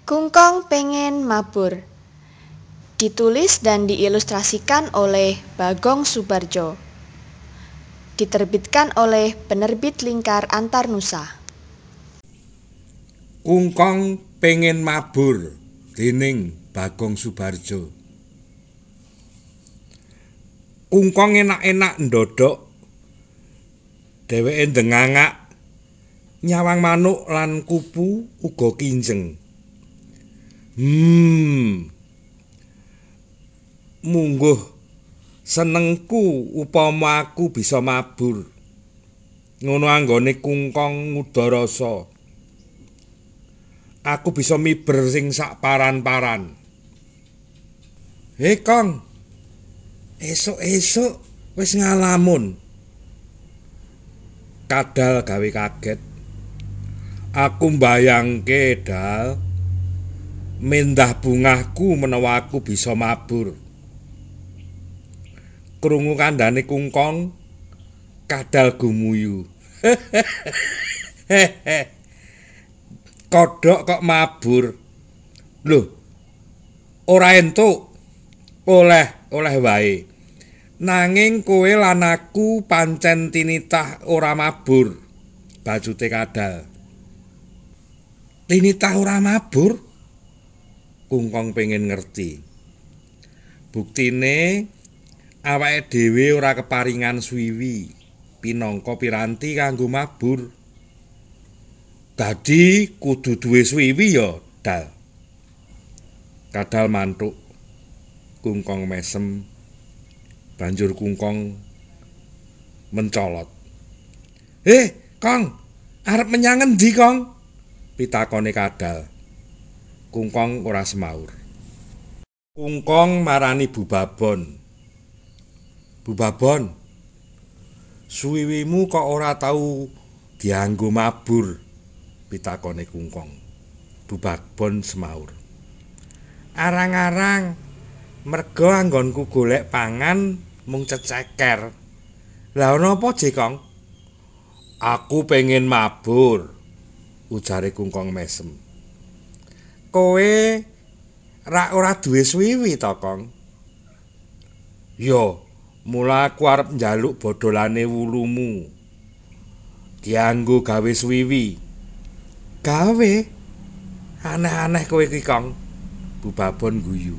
Kungkong pengen mabur. Ditulis dan diilustrasikan oleh Bagong Subarjo. Diterbitkan oleh Penerbit Lingkar Antarnusa. Kungkong pengen mabur déning Bagong Subarjo. Kungkong enak-enak ndodhok. Dheweke ndengangak nyawang manuk lan kupu uga kinjeng. Mungguh senengku upama aku bisa mabur. Ngono anggone kungkong ngudarasa. Aku bisa miber sing sak paran-paran. Hei Kong, esuk-esuk wis ngalamun. Kadal gawe kaget. Aku mbayangke Dal, mendah bungahku menawa aku bisa mabur. Krungu kandhane kungkong, Kadal gumuyu. Kodhok kok mabur. Loh, ora entuk. Oleh wae. Nanging kowe lan aku pancen tinitah ora mabur. Bajute Kadal. Tinitah ora mabur? Kungkong pengen ngerti. Buktine awake dhewe ora keparingan swiwi pinangka piranti kanggo mabur. Dadi kudu duwe swiwi ya, Dal. Kadal mantuk. Kungkong mesem. Banjur kungkong mencolot. Kong, arep menyang endi, Kong? Pitakone Kadal. Kungkong ora semaur. Kungkong marani Bubabon. Bubabon, suwiwimu kok ora tau dianggo mabur? Pitakone kungkong. Bubabon semaur. Arang-arang, merga anggonku golek pangan mung ceceker. Lah ana apa, Jekong? Aku pengen mabur, ujare kungkong mesem. Kowe rak ora duwe swiwi to, Kong? Yo, mula aku arep njaluk bodholane wulumu. Dianggo gawe swiwi. Gawe? Aneh-aneh kowe iki, Kong. Bubabon guyu.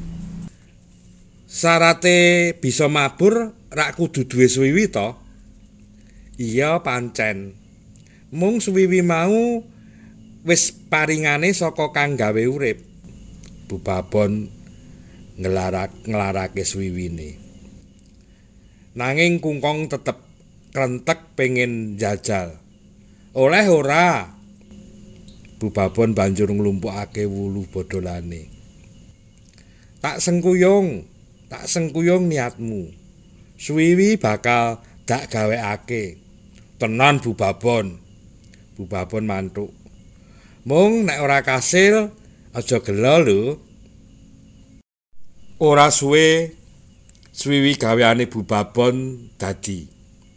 Sarate bisa mabur rak kudu duwe swiwi to? Iya pancen. Mung swiwi mau wis paringane saka kang gawe urip. Bubabon nglarake swiwine. Nanging kungkong tetep krentek pengen njajal. Oleh ora? Bubabon banjur nglumpukake wulu bodholane. Tak sengkuyung niatmu. Swiwi bakal dak gawekake. Tenan Bubabon. Bubabon mantuk. Mung nek ora kasil, aja gelo lho. Ora suwe swiwi gaweane Bubabon dadi.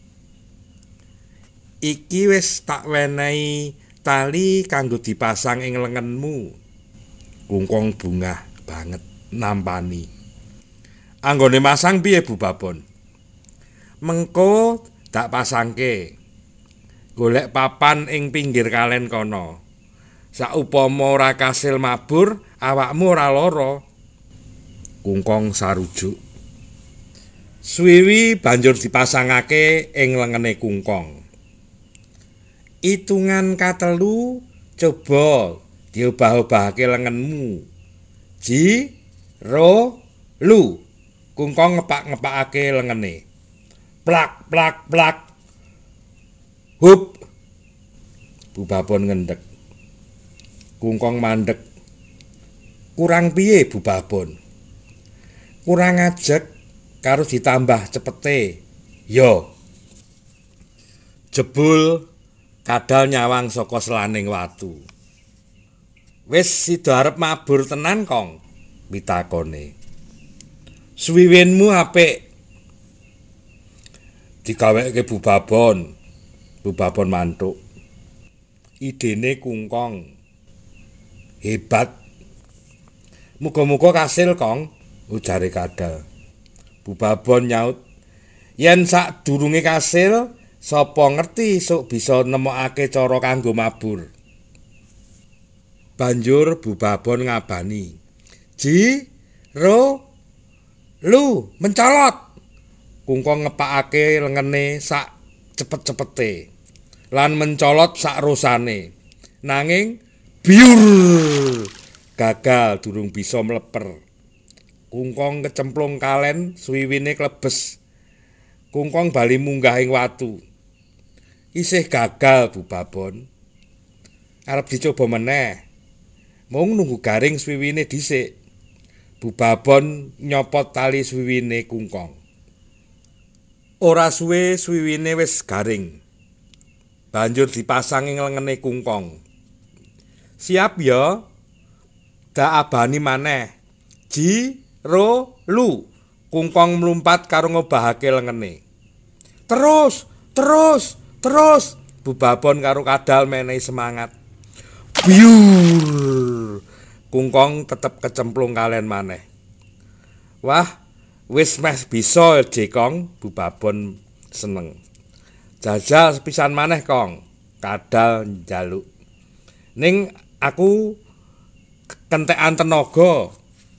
Iki wis tak wenehi tali kanggo dipasang ing lengenmu. Kungkong bungah banget nampani. Anggone masang piye Bubabon? Mengko dak pasangke. Golek papan ing pinggir kalen kono. Saupama ora kasil mabur, awakmu ora lara. Kungkong sarujuk. Swiwi banjur dipasangake ing lengene kungkong. Itungan katelu coba diobah-obahake lengenmu. Ji, ro, lu. Kungkong ngepak-ngepakake lengene. Plak, plak, plak. Hup. Bubabon ngendhek. Kungkong mandek. Kurang piye Bubabon? Kurang ajeg karo ditambah cepete. Yo. Jebul Kadal nyawang saka selaning watu. Wis sida arep mabur tenan, Kong? Pitakone. Swiwinmu apik. Digaweke Bubabon. Bubabon mantuk. Idene kungkong. Hebat Muga-muga kasil, Kong, ujare Kadal. Bubabon nyaut, yen sadurunge kasil, sapa ngerti sok bisa nemokake cara kanggo mabur. Banjur Bubabon ngabani, Ji, Ro, Lu, mencolot. Kungkong ngepakake lengene sak cepet-cepete lan mencolot sak rosane. Nanging biur gagal durung bisa mleper. Kungkong kecemplung kalen swiwine klebes. Kungkong bali munggah ing watu. Isih gagal Bubabon. Arep dicoba meneh. Mung nunggu garing swiwine dhisik. Bubabon nyopot tali swiwine Kungkong. Ora suwe swiwine wis garing. Banjur dipasang ing lengene Kungkong. Siap ya? Dak abani maneh. Ji, Ro, Lu. Kungkong mlumpat karo ngobahake lengene. Terus, terus, terus. Bubabon karo Kadal menehi semangat. Biur. Kungkong tetep kecemplung kalen maneh. Wah, wis meh bisa Jekong, Bubabon seneng. Jajal sepisan maneh, Kong. Kadal njaluk. Ning aku kentekan tenaga.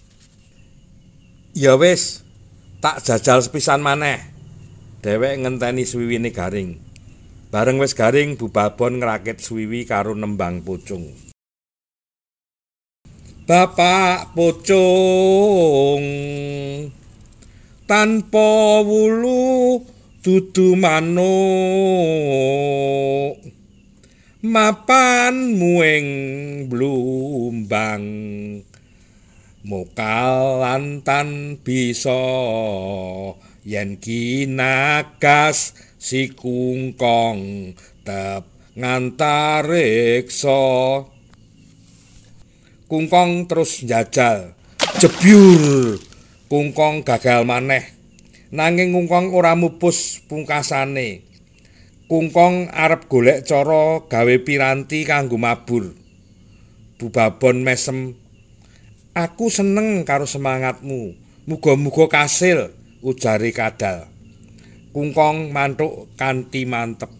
Ya wis, tak jajal sepisan maneh. Dhewek ngenteni swiwine garing. Bareng wis garing, Bubabon ngrakit swiwi karo nembang pucung. Bapak Pucung tanpa wulu dudu manuk mapanmu ing blumbang mokal lantan bisa yen kinagas si Kungkong tep ngantariksa. Kungkong terus njajal. Jebyur. Kungkong gagal maneh. Nanging Kungkong ora mupus pungkasane. Kungkong arep golek cara gawe piranti kanggo mabur. Bubabon mesem. Aku seneng karo semangatmu. Muga-muga kasil, ujare Kadal. Kungkong mantuk kanthi mantep.